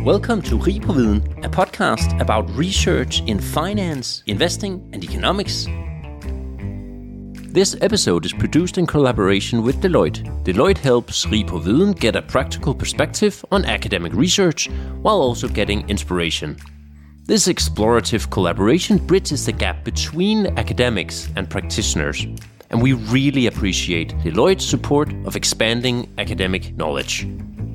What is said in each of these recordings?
Welcome to Rig på Viden, a podcast about research in finance, investing and economics. This episode is produced in collaboration with Deloitte. Deloitte helps Rig på Viden get a practical perspective on academic research while also getting inspiration. This explorative collaboration bridges the gap between academics and practitioners, and we really appreciate Deloitte's support of expanding academic knowledge.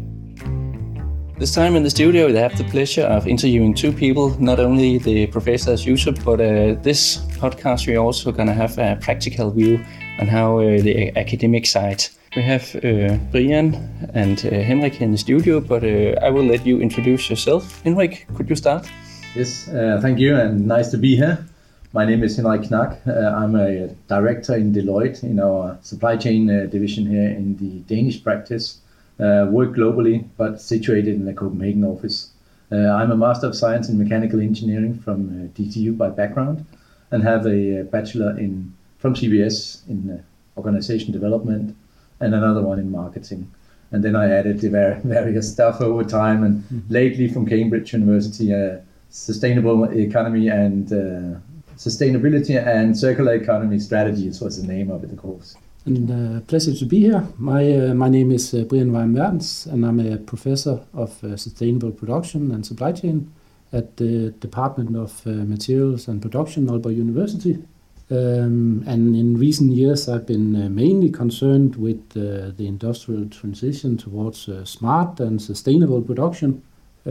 This time in the studio, I have the pleasure of interviewing two people, not only the professor as usual, but this podcast we're also going to have a practical view on how the academic side. We have Brian and Henrik in the studio, but I will let you introduce yourself. Henrik, could you start? Yes, thank you, and nice to be here. My name is Henrik Knack. I'm a director in Deloitte in our supply chain division here in the Danish practice. Work globally, but situated in the Copenhagen office. I'm a Master of Science in Mechanical Engineering from DTU by background, and have a bachelor from CBS in Organization Development, and another one in Marketing. And then I added the various stuff over time, and lately from Cambridge University, Sustainable Economy and Sustainability and Circular Economy Strategies was the name of the course. And pleasure to be here. My name is Brian Weim-Mertens, and I'm a professor of sustainable production and supply chain at the Department of Materials and Production, Aalborg University. And in recent years, I've been mainly concerned with the industrial transition towards smart and sustainable production,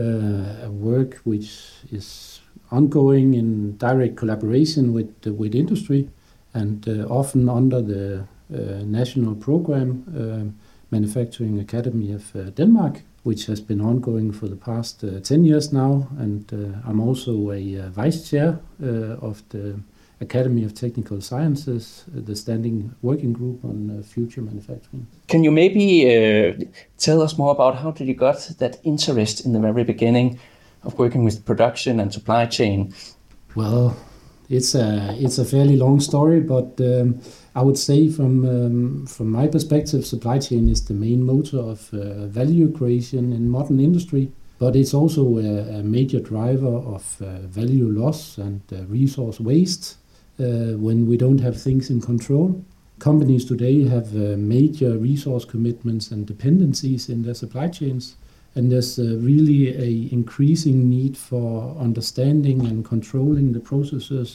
a work which is ongoing in direct collaboration with industry, and often under the national program, Manufacturing Academy of Denmark, which has been ongoing for the past 10 years now. And I'm also a vice chair of the Academy of Technical Sciences, the standing working group on future manufacturing. Can you maybe tell us more about how did you got that interest in the very beginning of working with production and supply chain? Well, it's a fairly long story, but I would say from my perspective, supply chain is the main motor of value creation in modern industry, but it's also a major driver of value loss and resource waste when we don't have things in control. Companies today have major resource commitments and dependencies in their supply chains, and there's really a increasing need for understanding and controlling the processes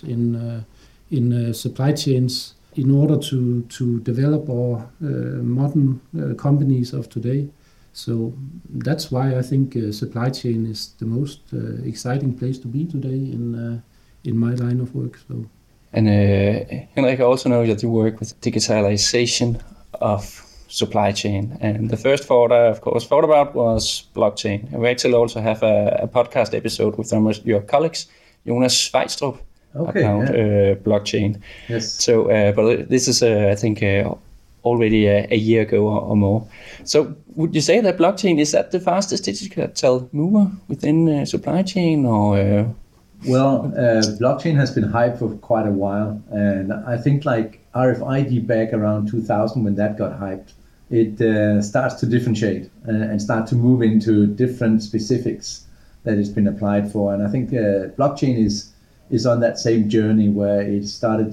in supply chains in order to develop our modern companies of today. So that's why I think supply chain is the most exciting place to be today in my line of work. So. And Henrik, I also know that you work with digitalization of supply chain, and the first thought I of course thought about was blockchain. And we actually also have a podcast episode with some of your colleagues, Jonas Svejstrup, about blockchain. Yes. So, but this is I think already a year ago or more. So, would you say that blockchain is at the fastest digital mover within supply chain, or? Well, blockchain has been hyped for quite a while, and I think like RFID back around 2000 when that got hyped, it starts to differentiate and start to move into different specifics that it's been applied for. And I think blockchain is on that same journey where it started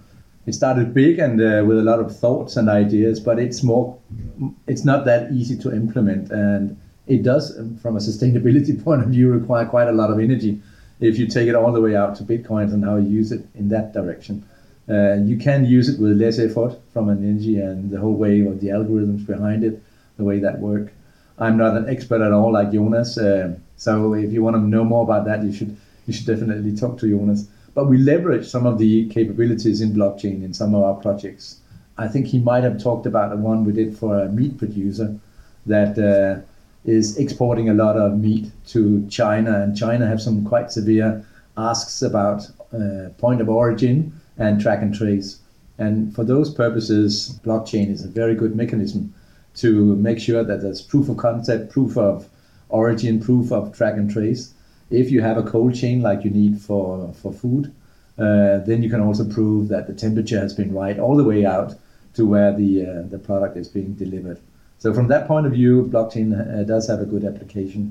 big and with a lot of thoughts and ideas, but it's not that easy to implement, and it does, from a sustainability point of view, require quite a lot of energy if you take it all the way out to Bitcoin and how you use it in that direction. You can use it with less effort from an energy and the whole way of the algorithms behind it, the way that work. I'm not an expert at all like Jonas, so if you want to know more about that, you should definitely talk to Jonas. But we leverage some of the capabilities in blockchain in some of our projects. I think he might have talked about the one we did for a meat producer that is exporting a lot of meat to China, and China have some quite severe asks about point of origin and track and trace. And for those purposes, blockchain is a very good mechanism to make sure that there's proof of concept, proof of origin, proof of track and trace. If you have a cold chain like you need for food, then you can also prove that the temperature has been right all the way out to where the product is being delivered. So from that point of view, blockchain does have a good application.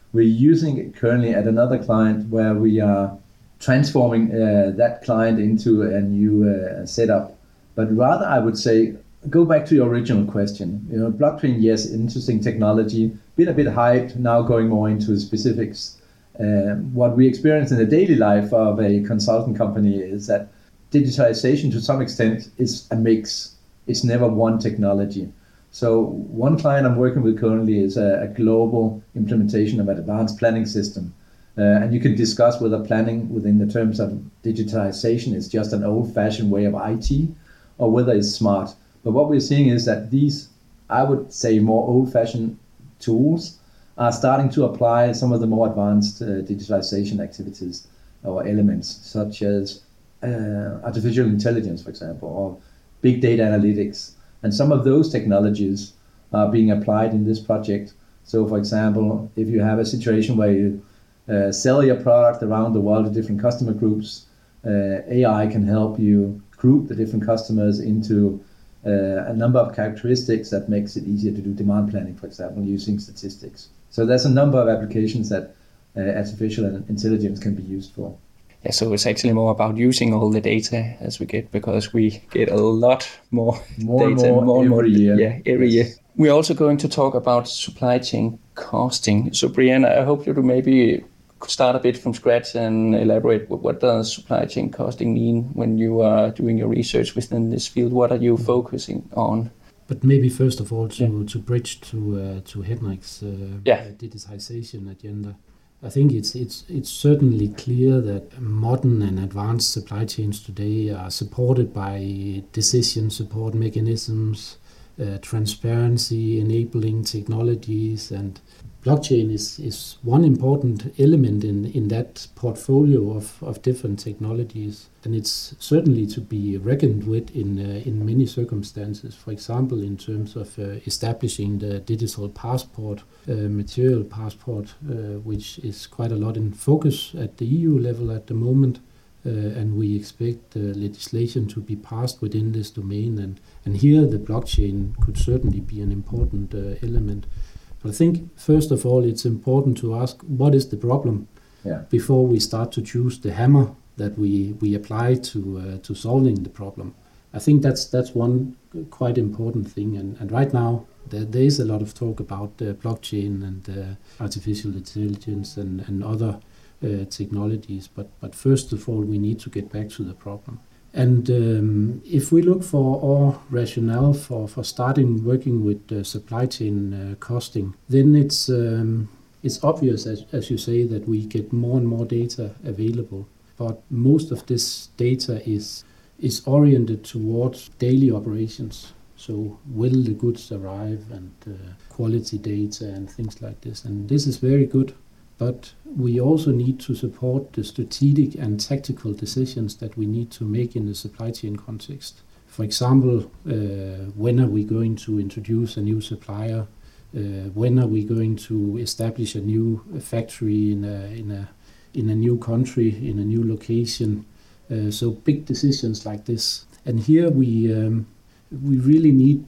We're using it currently at another client where we are transforming that client into a new setup. But rather, I would say, go back to your original question. Blockchain, yes, interesting technology, been a bit hyped, now going more into specifics. What we experience in the daily life of a consulting company is that digitalization to some extent is a mix. It's never one technology. So one client I'm working with currently is a global implementation of an advanced planning system. And you can discuss whether planning within the terms of digitalization is just an old-fashioned way of IT or whether it's smart. But what we're seeing is that these, I would say, more old-fashioned tools are starting to apply some of the more advanced digitalization activities or elements, such as artificial intelligence, for example, or big data analytics. And some of those technologies are being applied in this project. So, for example, if you have a situation where you sell your product around the world to different customer groups, AI can help you group the different customers into a number of characteristics that makes it easier to do demand planning, for example, using statistics. So there's a number of applications that artificial intelligence can be used for. Yeah, so it's actually more about using all the data as we get, because we get a lot more data every year. Yeah, every year. We're also going to talk about supply chain costing. So Brian, I hope you maybe start a bit from scratch and elaborate what does supply chain costing mean when you are doing your research within this field. What are you focusing on? But maybe first of all to bridge to Henrik's digitization agenda. I think it's certainly clear that modern and advanced supply chains today are supported by decision support mechanisms, transparency, enabling technologies, and blockchain is one important element in that portfolio of different technologies. And it's certainly to be reckoned with in many circumstances. For example, in terms of establishing the digital passport, material passport, which is quite a lot in focus at the EU level at the moment. And we expect legislation to be passed within this domain. And here the blockchain could certainly be an important element. But I think, first of all, it's important to ask, what is the problem before we start to choose the hammer that we apply to solving the problem. I think that's one quite important thing. And right now, there is a lot of talk about blockchain and artificial intelligence and other technologies. But first of all, we need to get back to the problem. And if we look for our rationale for starting working with supply chain costing, then it's obvious, as you say, that we get more and more data available. But most of this data is oriented towards daily operations. So will the goods arrive, and quality data and things like this. And this is very good. But we also need to support the strategic and tactical decisions that we need to make in the supply chain context. For example, when are we going to introduce a new supplier? When are we going to establish a new factory in a new country, in a new location? So big decisions like this. And here we really need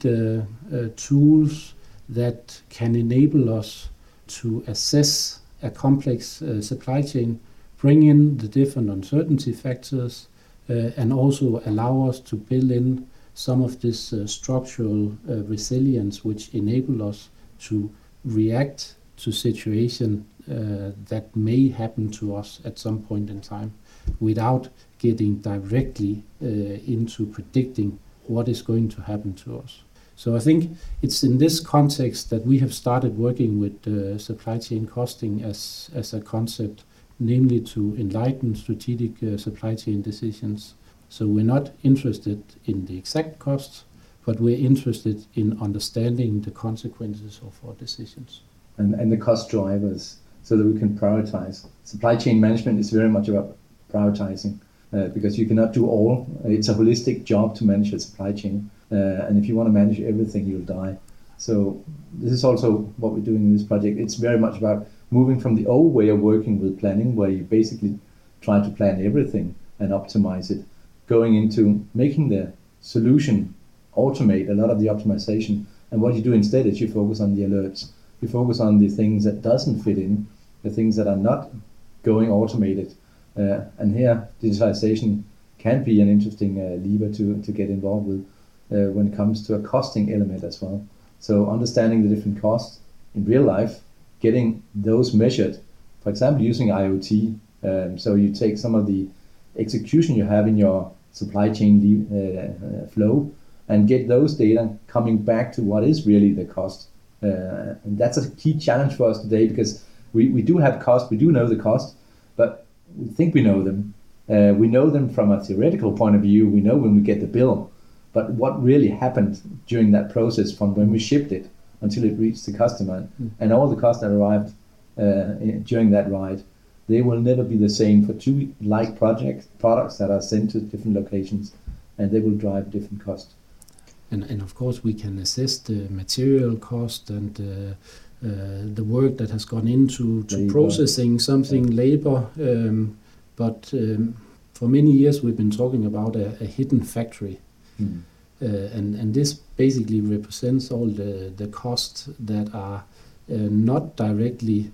tools that can enable us to assess a complex supply chain, bring in the different uncertainty factors, and also allow us to build in some of this structural resilience, which enable us to react to situation that may happen to us at some point in time, without getting directly into predicting what is going to happen to us. So I think it's in this context that we have started working with supply chain costing as a concept, namely to enlighten strategic supply chain decisions. So we're not interested in the exact costs, but we're interested in understanding the consequences of our decisions. And the cost drivers, so that we can prioritize. Supply chain management is very much about prioritizing, because you cannot do all. It's a holistic job to manage a supply chain. And if you want to manage everything, you'll die. So this is also what we're doing in this project. It's very much about moving from the old way of working with planning, where you basically try to plan everything and optimize it, going into making the solution automate a lot of the optimization. And what you do instead is you focus on the alerts. You focus on the things that doesn't fit in, the things that are not going automated. And here, digitalization can be an interesting lever to get involved with when it comes to a costing element as well. So understanding the different costs in real life, getting those measured, for example, using IoT. So you take some of the execution you have in your supply chain flow and get those data coming back to what is really the cost. And that's a key challenge for us today, because we do have cost, we do know the cost, but we think we know them. We know them from a theoretical point of view, we know when we get the bill, but what really happened during that process from when we shipped it until it reached the customer, and all the costs that arrived during that ride, they will never be the same for two like products that are sent to different locations, and they will drive different costs. And of course we can assess the material cost and the work that has gone into processing something, labor. But for many years we've been talking about a hidden factory. And this basically represents all the costs that are not directly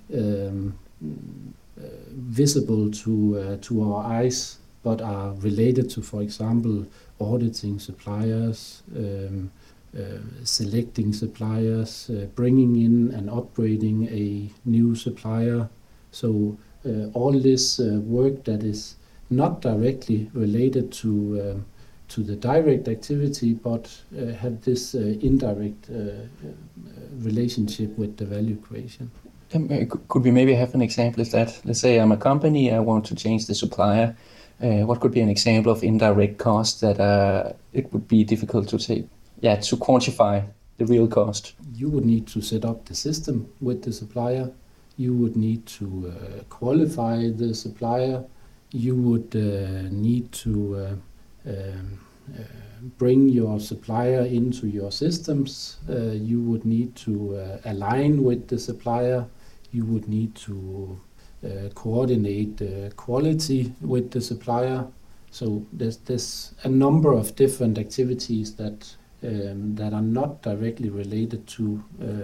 visible to our eyes, but are related to, for example, auditing suppliers, selecting suppliers, bringing in and upgrading a new supplier. So all this work that is not directly related to the direct activity, but have this indirect relationship with the value creation. Could we maybe have an example of that? Let's say I'm a company, I want to change the supplier. What could be an example of indirect cost that it would be difficult to to quantify the real cost? You would need to set up the system with the supplier. You would need to qualify the supplier. You would need to bring your supplier into your systems. You would need to align with the supplier. You would need to coordinate quality with the supplier. So there's a number of different activities that are not directly related to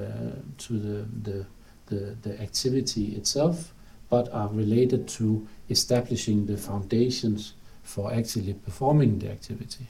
the activity itself, but are related to establishing the foundations for actually performing the activity.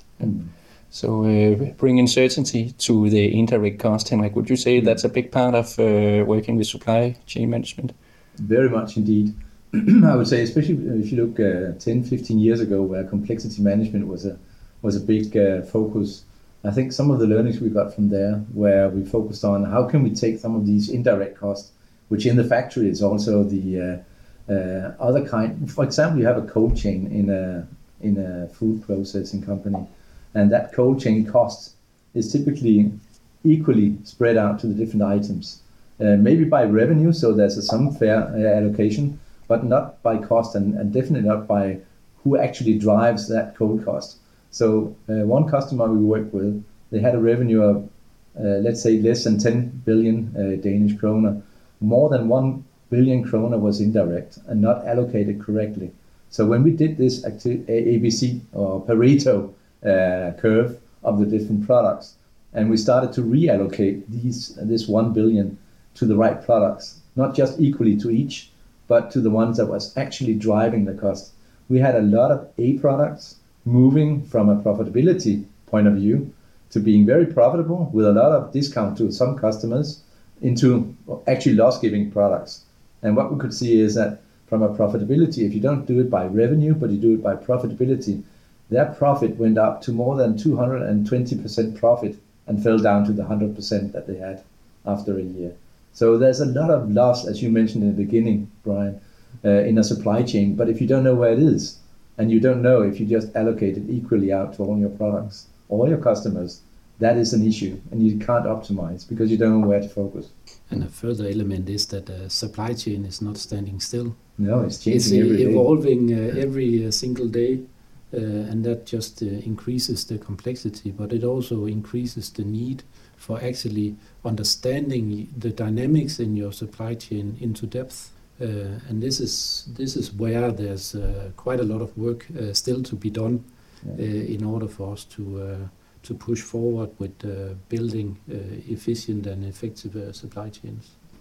So bringing certainty to the indirect cost, Henrik, would you say that's a big part of working with supply chain management? Very much indeed. I would say, especially if you look 10, 15 years ago, where complexity management was a big focus. I think some of the learnings we got from there, where we focused on how can we take some of these indirect costs, which in the factory is also the other kind. For example, you have a cold chain in a food processing company, and that cold chain cost is typically equally spread out to the different items. Maybe by revenue, so there's some fair allocation, but not by cost, and definitely not by who actually drives that cold cost. So one customer we worked with, they had a revenue of, let's say, less than 10 billion Danish kroner. More than 1 billion kroner was indirect and not allocated correctly. So when we did this ABC or Pareto curve of the different products, and we started to reallocate this 1 billion to the right products, not just equally to each, but to the ones that was actually driving the cost. We had a lot of A products moving from a profitability point of view to being very profitable with a lot of discount to some customers into actually loss-giving products. And what we could see is that from a profitability, if you don't do it by revenue, but you do it by profitability, their profit went up to more than 220% profit and fell down to the 100% that they had after a year. So there's a lot of loss, as you mentioned in the beginning, Brian, in a supply chain. But if you don't know where it is, and you don't know if you just allocate it equally out to all your products, all your customers, that is an issue, and you can't optimize because you don't know where to focus. And a further element is that the supply chain is not standing still. No, it's changing every day. It's evolving every single day, and that just increases the complexity, but it also increases the need for actually understanding the dynamics in your supply chain into depth. And this is where there's quite a lot of work still to be done in order for us to push forward with building efficient and effective supply chains.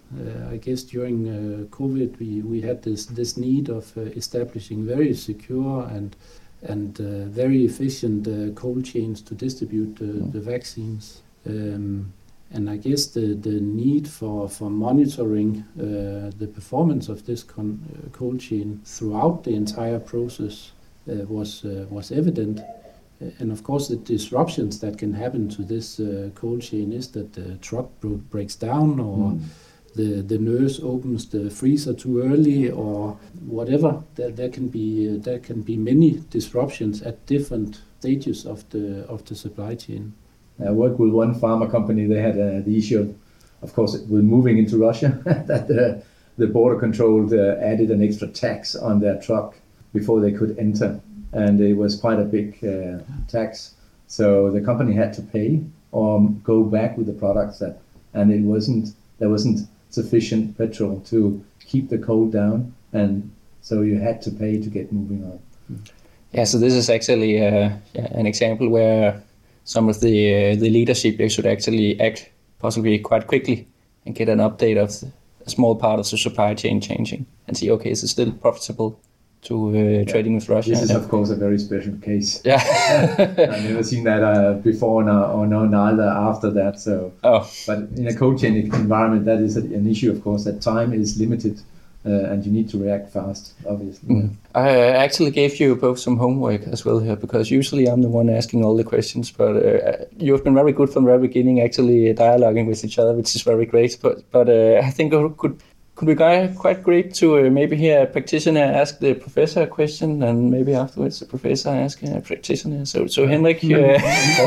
I guess during COVID we had this need of establishing very secure and very efficient cold chains to distribute the vaccines. And I guess the need for monitoring the performance of this cold chain throughout the entire process was evident. And of course, the disruptions that can happen to this cold chain is that the truck breaks down, or the nurse opens the freezer too early, or whatever. There can be many disruptions at different stages of the supply chain. I worked with one pharma company. They had the issue, of course, with moving into Russia, that the border control added an extra tax on their truck before they could enter. And it was quite a big tax. So the company had to pay or go back with the products and there wasn't sufficient petrol to keep the cold down. And so you had to pay to get moving on. Yeah, so this is actually an example where some of the leadership should actually act possibly quite quickly and get an update of a small part of the supply chain changing and see, okay, is it still profitable to trading with Russia? This is, of course, a very special case. Yeah. I've never seen that before or neither after that. So, But in a cold chain environment, that is an issue, of course, that time is limited. And you need to react fast, obviously. I actually gave you both some homework as well here, because usually I'm the one asking all the questions, but you've been very good from the very beginning, actually dialoguing with each other, which is very great. But I think could be quite great to maybe hear a practitioner ask the professor a question, and maybe afterwards the professor ask a practitioner. So Henrik, yeah,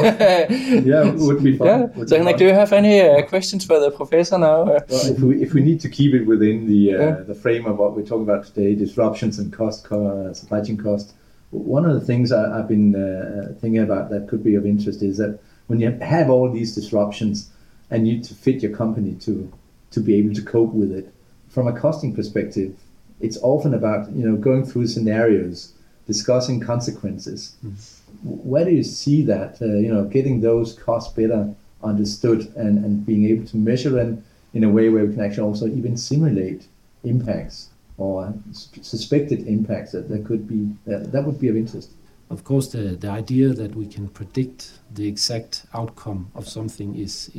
it would be fun. Yeah. So Henrik, do you have any questions for the professor now? Well, if we need to keep it within the frame of what we're talking about today, disruptions and supply chain cost, one of the things I've been thinking about that could be of interest is that when you have all these disruptions and you need to fit your company to be able to cope with it, from a costing perspective, it's often about going through scenarios, discussing consequences. Where do you see that getting those costs better understood and being able to measure them in a way where we can actually also even simulate impacts or suspected impacts that could be that would be of interest? Of course, the idea that we can predict the exact outcome of something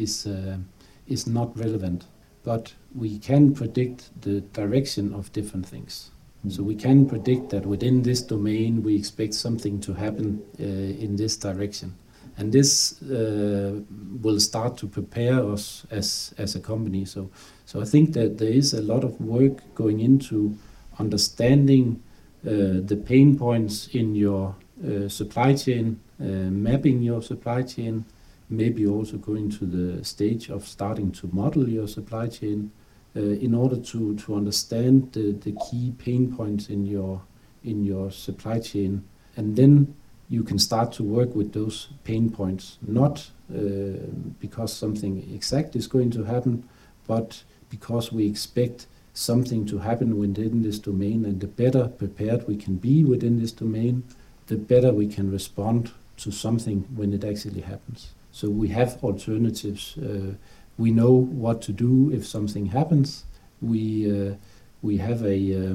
is not relevant. But we can predict the direction of different things. So we can predict that within this domain we expect something to happen in this direction. And this will start to prepare us as a company. So I think that there is a lot of work going into understanding the pain points in your supply chain, mapping your supply chain, maybe also going to the stage of starting to model your supply chain in order to understand the key pain points in your supply chain. And then you can start to work with those pain points, not because something exact is going to happen, but because we expect something to happen within this domain. And the better prepared we can be within this domain, the better we can respond to something when it actually happens. So we have alternatives. We know what to do if something happens. We have a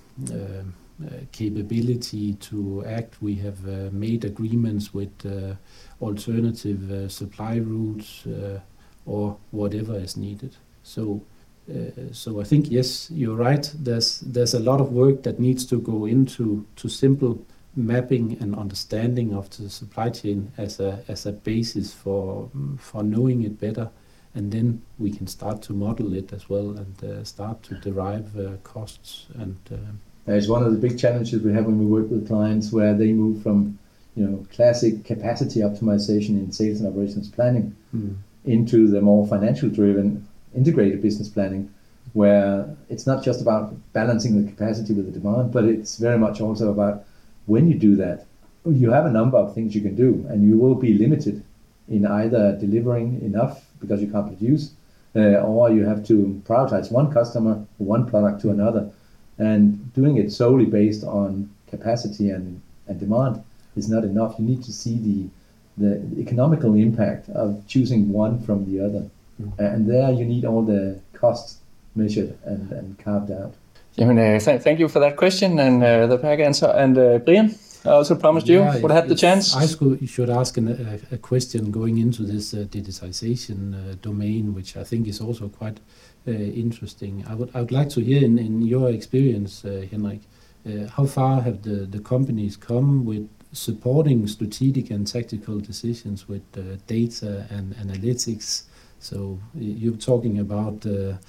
capability to act. We have made agreements with alternative supply routes or whatever is needed. So I think, yes, you're right. There's a lot of work that needs to go into simple mapping and understanding of the supply chain as a basis for knowing it better, and then we can start to model it as well and start to derive costs. And it's one of the big challenges we have when we work with clients, where they move from classic capacity optimization in sales and operations planning into the more financial driven integrated business planning, where it's not just about balancing the capacity with the demand, but it's very much also about, when you do that, you have a number of things you can do, and you will be limited in either delivering enough because you can't produce, or you have to prioritize one customer, one product to another. And doing it solely based on capacity and demand is not enough. You need to see the economical impact of choosing one from the other. And there you need all the cost measured and carved out. Thank you for that question and the back answer. And Brian, I also promised you would have the chance. I should ask a question going into this digitization domain, which I think is also quite interesting. I would like to hear in your experience, Henrik, how far have the companies come with supporting strategic and tactical decisions with data and analytics? So you're talking about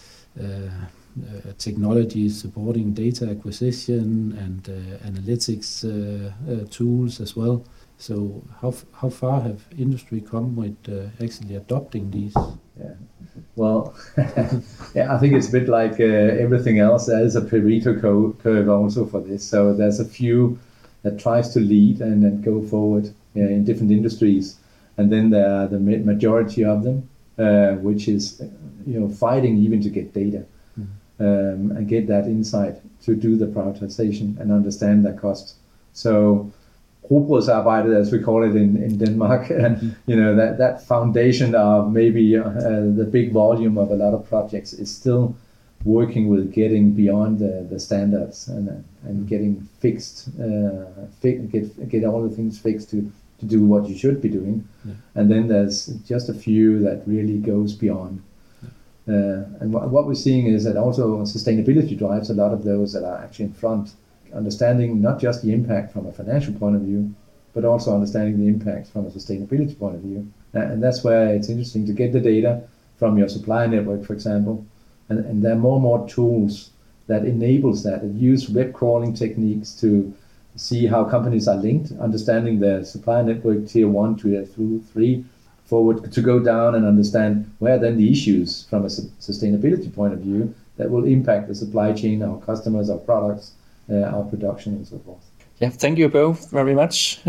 technologies supporting data acquisition and analytics tools as well. So how far have industry come with actually adopting these? Yeah. Well, I think it's a bit like everything else. There is a Pareto curve also for this. So there's a few that tries to lead and then go forward in different industries, and then there are the majority of them, which is fighting even to get data. And get that insight to do the prioritization and understand their costs. So rugbrødsarbejdet, as we call it in Denmark, that foundation of maybe the big volume of a lot of projects is still working with getting beyond the standards and getting fixed, get all the things fixed to do what you should be doing. Yeah. And then there's just a few that really goes beyond. And what we're seeing is that also sustainability drives a lot of those that are actually in front, understanding not just the impact from a financial point of view, but also understanding the impact from a sustainability point of view. And that's where it's interesting to get the data from your supplier network, for example. And there are more and more tools that enables that use web crawling techniques to see how companies are linked, understanding their supplier network tier 1 to 3, forward to go down and understand where then the issues from a sustainability point of view that will impact the supply chain, our customers, our products, our production, and so forth. Yeah, thank you both very much.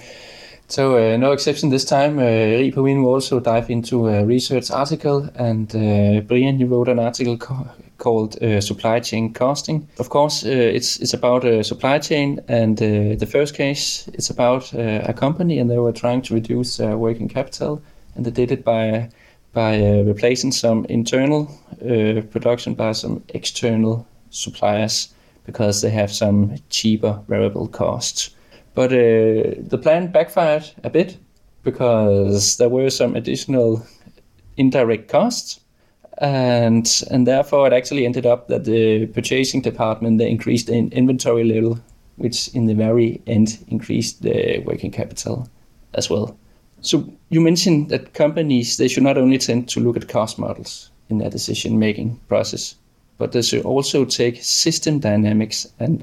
So no exception this time. Ri Praveen will also dive into a research article, and Brian, you wrote an article called Supply Chain Costing. Of course, it's about supply chain, and the first case, it's about a company, and they were trying to reduce working capital, and they did it by replacing some internal production by some external suppliers because they have some cheaper variable costs. But the plan backfired a bit because there were some additional indirect costs, and therefore it actually ended up that the purchasing department, they increased the inventory level, which in the very end increased the working capital as well. So you mentioned that companies, they should not only tend to look at cost models in their decision-making process, but they should also take system dynamics and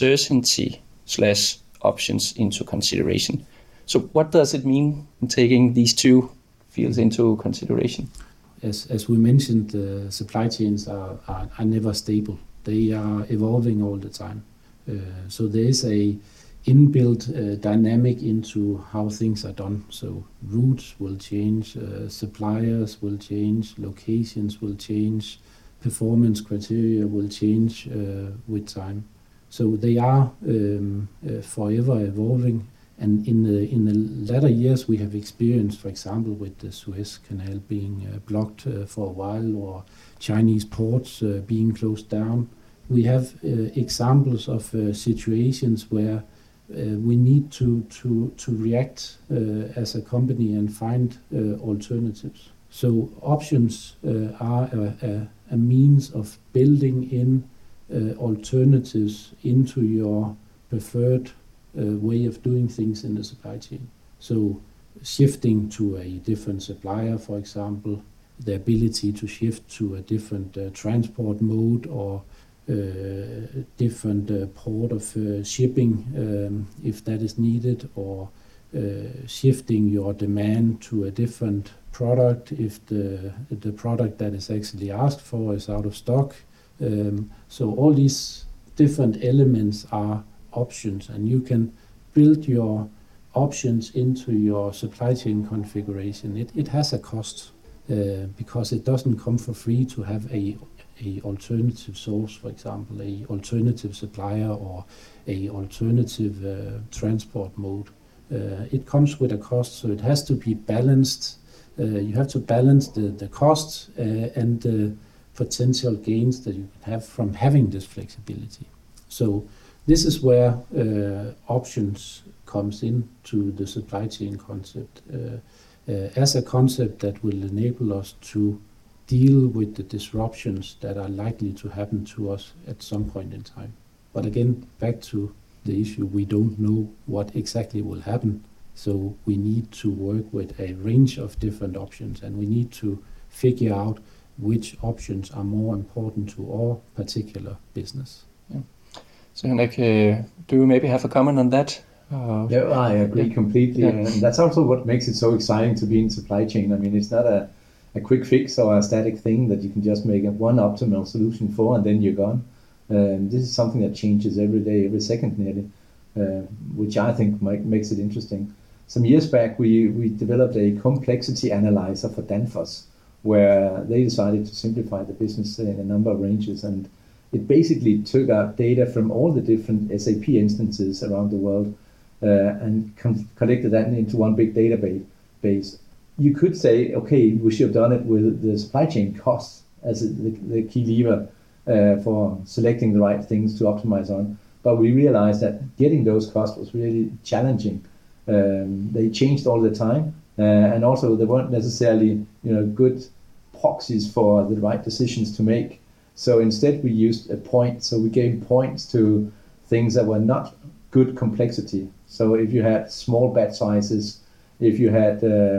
uncertainty/options into consideration. So what does it mean in taking these two fields into consideration? As we mentioned, the supply chains are never stable. They are evolving all the time. So there is a inbuilt dynamic into how things are done. So routes will change, suppliers will change, locations will change, performance criteria will change with time. So they are forever evolving. And in the latter years, we have experienced, for example, with the Suez Canal being blocked for a while, or Chinese ports being closed down. We have examples of situations where we need to react as a company and find alternatives. So options are a means of building in alternatives into your preferred way of doing things in the supply chain. So shifting to a different supplier, for example, the ability to shift to a different transport mode or different port of shipping if that is needed, or shifting your demand to a different product if the product that is actually asked for is out of stock. So all these different elements are options, and you can build your options into your supply chain configuration. It has a cost because it doesn't come for free to have a alternative source, for example, a alternative supplier or a alternative transport mode. It comes with a cost, so it has to be balanced. You have to balance the cost and potential gains that you can have from having this flexibility. So this is where options comes into the supply chain concept as a concept that will enable us to deal with the disruptions that are likely to happen to us at some point in time. But again, back to the issue, we don't know what exactly will happen. So we need to work with a range of different options, and we need to figure out which options are more important to our particular business. Yeah. So Henrik, do you maybe have a comment on that? Yeah, I agree completely. Yeah. And that's also what makes it so exciting to be in supply chain. I mean, it's not a quick fix or a static thing that you can just make one optimal solution for and then you're gone. This is something that changes every day, every second nearly, which I think makes it interesting. Some years back, we developed a complexity analyzer for Danfoss, where they decided to simplify the business in a number of ranges, and it basically took out data from all the different SAP instances around the world and collected that into one big database. You could say, okay, we should have done it with the supply chain costs as the key lever for selecting the right things to optimize on. But we realized that getting those costs was really challenging. They changed all the time, and also they weren't necessarily good proxies for the right decisions to make. So instead we used a point. So we gave points to things that were not good complexity. So if you had small batch sizes, if you had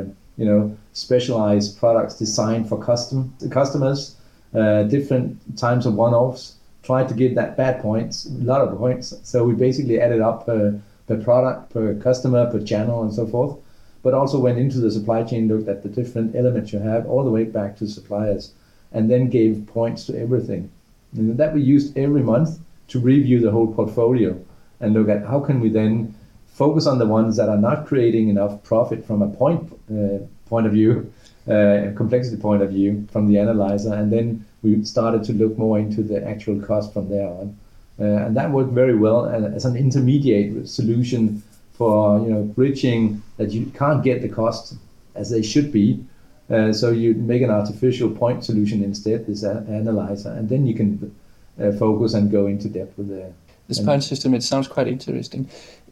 specialized products designed for customers, different times of one-offs, tried to give that bad points, a lot of points. So we basically added up per product, per customer, per channel, and so forth. But also went into the supply chain, looked at the different elements you have, all the way back to suppliers, and then gave points to everything. And that we used every month to review the whole portfolio and look at how can we then focus on the ones that are not creating enough profit from a point of view, complexity point of view from the analyzer, and then we started to look more into the actual cost from there on. And that worked very well as an intermediate solution for bridging that you can't get the costs as they should be. So you make an artificial point solution instead, this analyzer, and then you can focus and go into depth with this point system. It sounds quite interesting.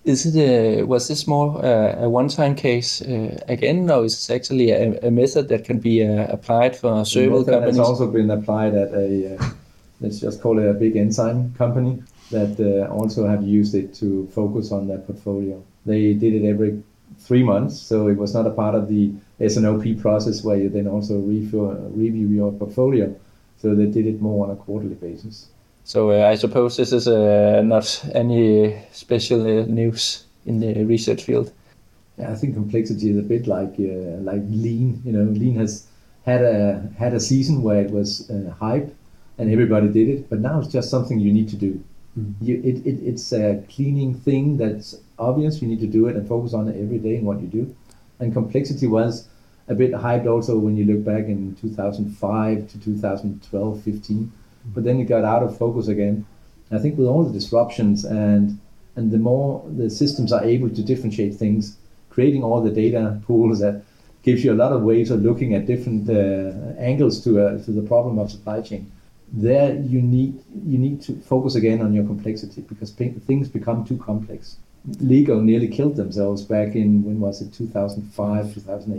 Was this more a one-time case again, or is it actually a method that can be applied for several companies? It's also been applied at let's just call it a big enzyme company that also have used it to focus on their portfolio. They did it every 3 months, so it was not a part of the S&OP process where you then also review your portfolio. So they did it more on a quarterly basis. So I suppose this is not any special news in the research field. Yeah, I think complexity is a bit like lean. Lean has had a season where it was hype and everybody did it, but now it's just something you need to do. Mm-hmm. It's a cleaning thing that's obvious. You need to do it and focus on it every day in what you do. And complexity was a bit hyped also when you look back in 2005 to 2012, 15. But then it got out of focus again. I think with all the disruptions and the more the systems are able to differentiate things, creating all the data pools that gives you a lot of ways of looking at different angles to the problem of supply chain. There you need to focus again on your complexity because things become too complex. Lego nearly killed themselves back in, when was it, 2005,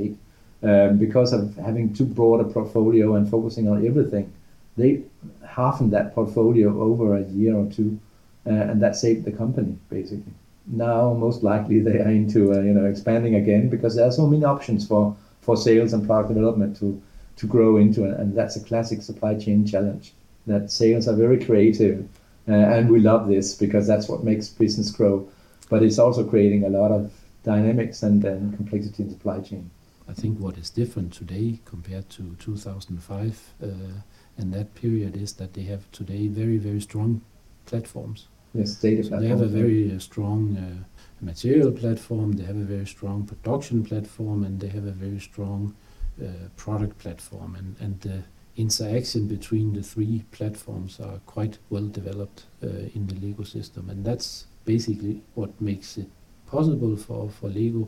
2008, because of having too broad a portfolio and focusing on everything. They halved that portfolio over a year or two, and that saved the company basically. Now most likely they are into expanding again because there are so many options for sales and product development to grow into, and that's a classic supply chain challenge. That sales are very creative, and we love this because that's what makes business grow. But it's also creating a lot of dynamics and complexity in supply chain. I think what is different today compared to 2005 and that period is that they have today very, very strong platforms. Yes, data platforms. They have a very strong material platform, they have a very strong production platform, and they have a very strong product platform. And the interaction between the three platforms are quite well developed in the Lego system. And that's basically what makes it possible for Lego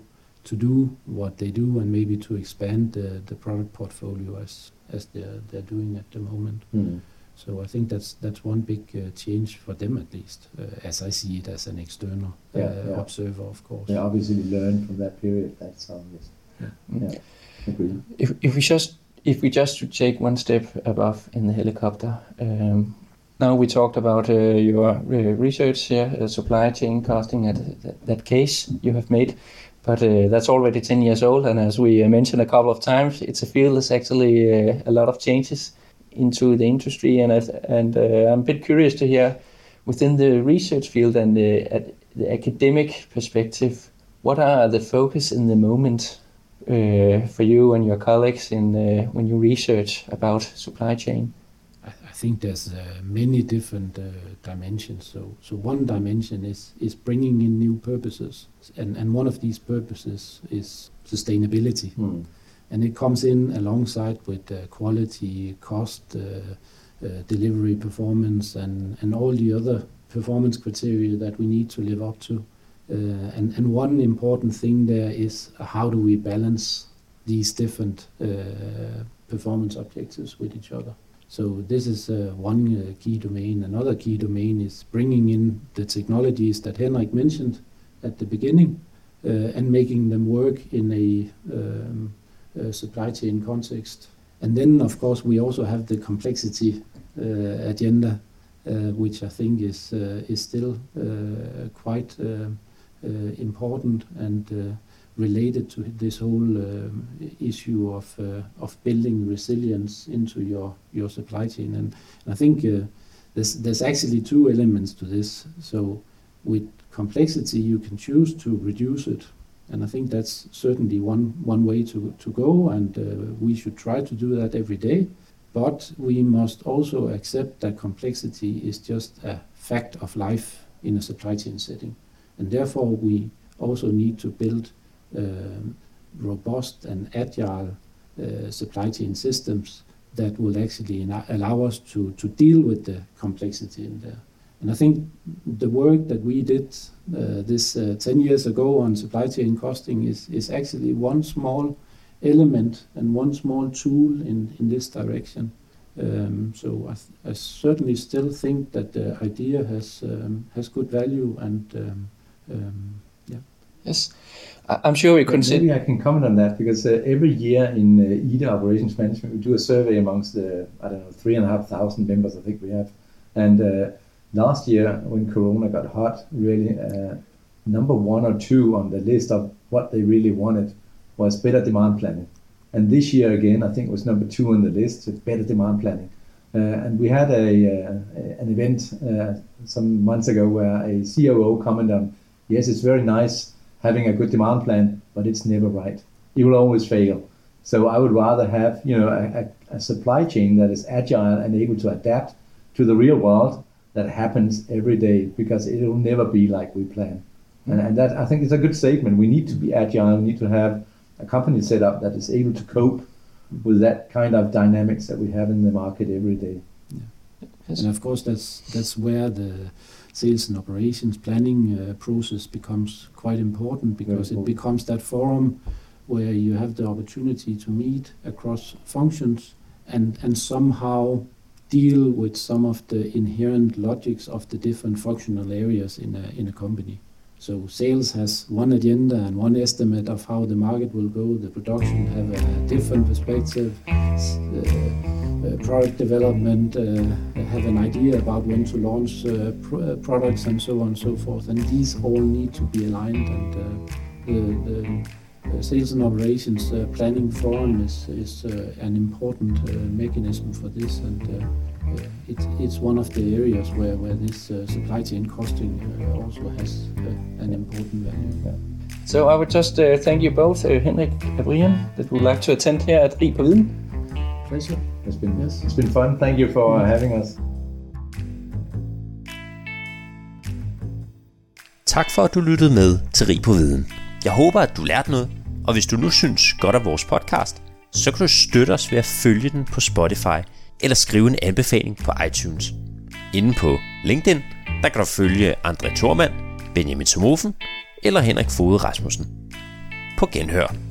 to do what they do and maybe to expand the product portfolio as they're doing at the moment. So I think that's one big change for them, at least, as I see it as an external observer, of course. Yeah, obviously learned from that period. That's obvious. Yeah. Agree. If we just should take one step above in the helicopter, now we talked about your research here, supply chain costing, that case you have made, but that's already 10 years old, and as we mentioned a couple of times, it's a field that's actually a lot of changes into the industry, and I'm a bit curious to hear, within the research field and at the academic perspective, what are the focus in the moment for you and your colleagues when you research about supply chain? I think there's many different dimensions. So one dimension is bringing in new purposes, and one of these purposes is sustainability. And it comes in alongside with quality, cost, delivery performance, and all the other performance criteria that we need to live up to. And one important thing there is how do we balance these different performance objectives with each other. So this is one key domain. Another key domain is bringing in the technologies that Henrik mentioned at the beginning and making them work in a supply chain context. And then, of course, we also have the complexity agenda, which I think is still quite important and related to this whole issue of building resilience into your supply chain. And I think there's actually two elements to this. So with complexity, you can choose to reduce it. And I think that's certainly one way to go, and we should try to do that every day. But we must also accept that complexity is just a fact of life in a supply chain setting. And therefore, we also need to build robust and agile supply chain systems that will actually allow us to deal with the complexity in there. And I think the work that we did 10 years ago on supply chain costing is actually one small element and one small tool in this direction. So I certainly still think that the idea has good value, and Yes, I'm sure we could. Maybe I can comment on that, because every year in IDA Operations Management we do a survey amongst the 3,500 members I think we have, and last year when Corona got hot, really number 1 or 2 on the list of what they really wanted was better demand planning. And this year again, I think it was number 2 on the list, better demand planning. And we had an event some months ago where a COO commented on, yes, it's very nice having a good demand plan, but it's never right. It will always fail. So I would rather have a supply chain that is agile and able to adapt to the real world that happens every day, because it will never be like we plan. And that, I think, is a good statement. We need to be agile. We need to have a company set up that is able to cope with that kind of dynamics that we have in the market every day. Yeah. Yes. And of course, that's where the sales and operations planning process becomes quite important, because it becomes that forum where you have the opportunity to meet across functions and somehow deal with some of the inherent logics of the different functional areas in a company. So sales has one agenda and one estimate of how the market will go. The production have a different perspective. Product development have an idea about when to launch products, and so on and so forth. And these all need to be aligned. And the sales and operations planning forum is an important mechanism for this. And it's one of the areas where this supply chain costing also has an important value. Yeah. So I would just thank you both, Henrik and Brian, that would like to attend here at Rig på Viden. Pleasure. It's been fun. Thank you for having us. Tak for, at du lyttede med til Rig på Viden. Jeg håber, at du lærte noget, og hvis du nu synes godt af vores podcast, så kan du støtte os ved at følge den på Spotify, eller skrive en anbefaling på iTunes. Inde på LinkedIn, der kan du følge André Thormand, Benjamin Somofen eller Henrik Foged Rasmussen. på genhør.